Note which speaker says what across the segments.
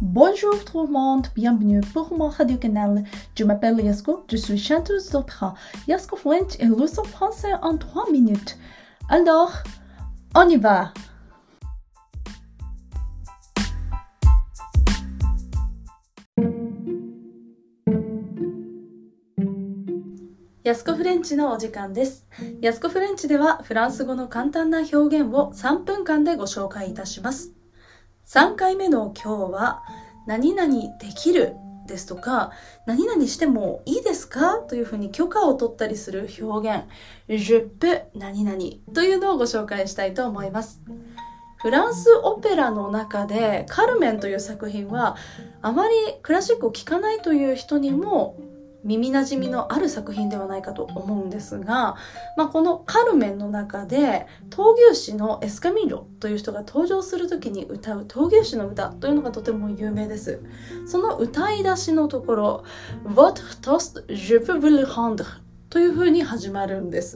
Speaker 1: Bonjour tout le monde, bienvenue pour mon radio canal. Je m'appelle Yasko, je suis chanteuse d'opéra. Yasko French est leçon français en 3 minutes. Alors, on y va! ヤスコフレンチのお時間です。ヤスコフレンチではフランス語の簡単な表現を3分間でご紹介いたします。3回目の今日は何々できるですとか何々してもいいですかというふうに許可を取ったりする表現 Je peux 何々というのをご紹介したいと思います。フランスオペラの中でカルメンという作品はあまりクラシックを聴かないという人にも耳なじみのある作品ではないかと思うんですが、このカルメンの中で闘牛士のエスカミーロという人が登場するときに歌う闘牛士の歌というのがとても有名です。その歌い出しのところ Votre toast, je peux vous le rendre というふうに始まるんです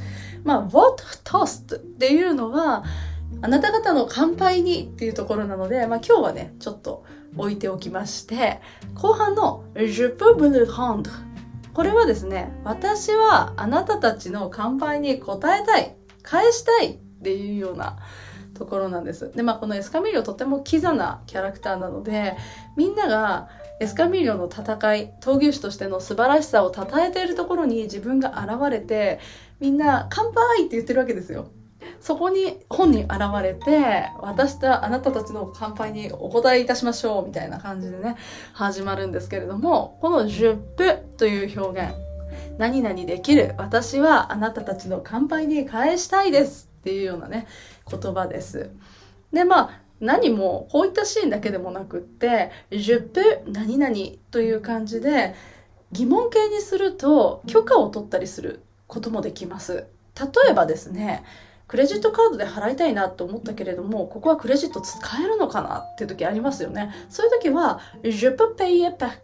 Speaker 1: 。Votre toast っていうのはあなた方の乾杯にっていうところなので、今日はねちょっと置いておきまして、後半の Je peux vous le rendre これはですね、私はあなたたちの乾杯に応えたい、返したいっていうようなところなんです。で、このエスカミーリョとてもキザなキャラクターなので、みんながエスカミーリョの戦い、闘牛士としての素晴らしさを称えているところに自分が現れて、みんな乾杯って言ってるわけですよ。そこに本人現れて、私とあなたたちの乾杯にお答えいたしましょうみたいな感じでね、始まるんですけれども、この Je peux という表現、何々できる、私はあなたたちの乾杯に返したいですっていうようなね、言葉です。で、何もこういったシーンだけでもなくって、Je peux 何々という感じで疑問形にすると許可を取ったりすることもできます。例えばですね、クレジットカードで払いたいなと思ったけれども、ここはクレジット使えるのかなっていう時ありますよね。そういう時は、Je peux payer par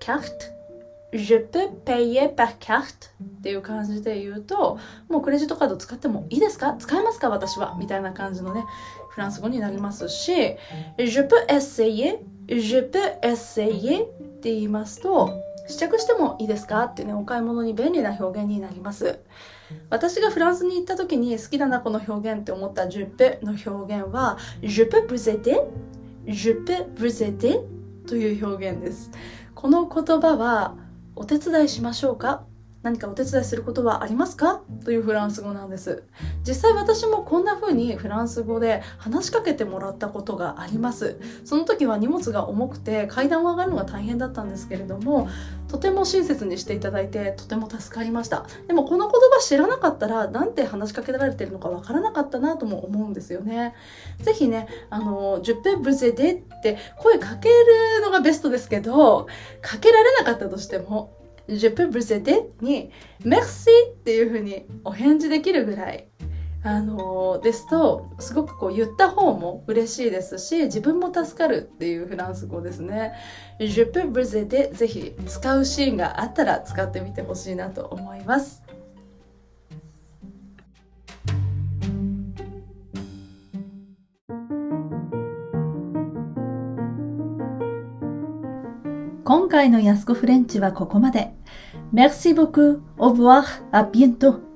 Speaker 1: carte。Je peux payer par carte っていう感じで言うと、もうクレジットカード使ってもいいですか？使えますか？私は。みたいな感じのね、フランス語になりますし、Je peux essayer。Je peux essayer って言いますと、試着してもいいですかってね、お買い物に便利な表現になります。私がフランスに行った時に好きだなこの表現って思った Je peux の表現は Je peux vous aider？Je peux vous aider？ という表現です。この言葉はお手伝いしましょうか？何かお手伝いすることはありますか？というフランス語なんです。実際私もこんな風にフランス語で話しかけてもらったことがあります。その時は荷物が重くて階段を上がるのが大変だったんですけれども、とても親切にしていただいてとても助かりました。でもこの言葉知らなかったらなんて話しかけられてるのかわからなかったなとも思うんですよね。ぜひね、Je peux vous aiderって声かけるのがベストですけど、かけられなかったとしてもJe peux vous aider に Merci っていう風にお返事できるぐらいですとすごく言った方も嬉しいですし、自分も助かるっていうフランス語ですね。Je peux vous aider ぜひ使うシーンがあったら使ってみてほしいなと思います。今回のヤスコフレンチはここまで。Merci beaucoup. Au revoir. À bientôt.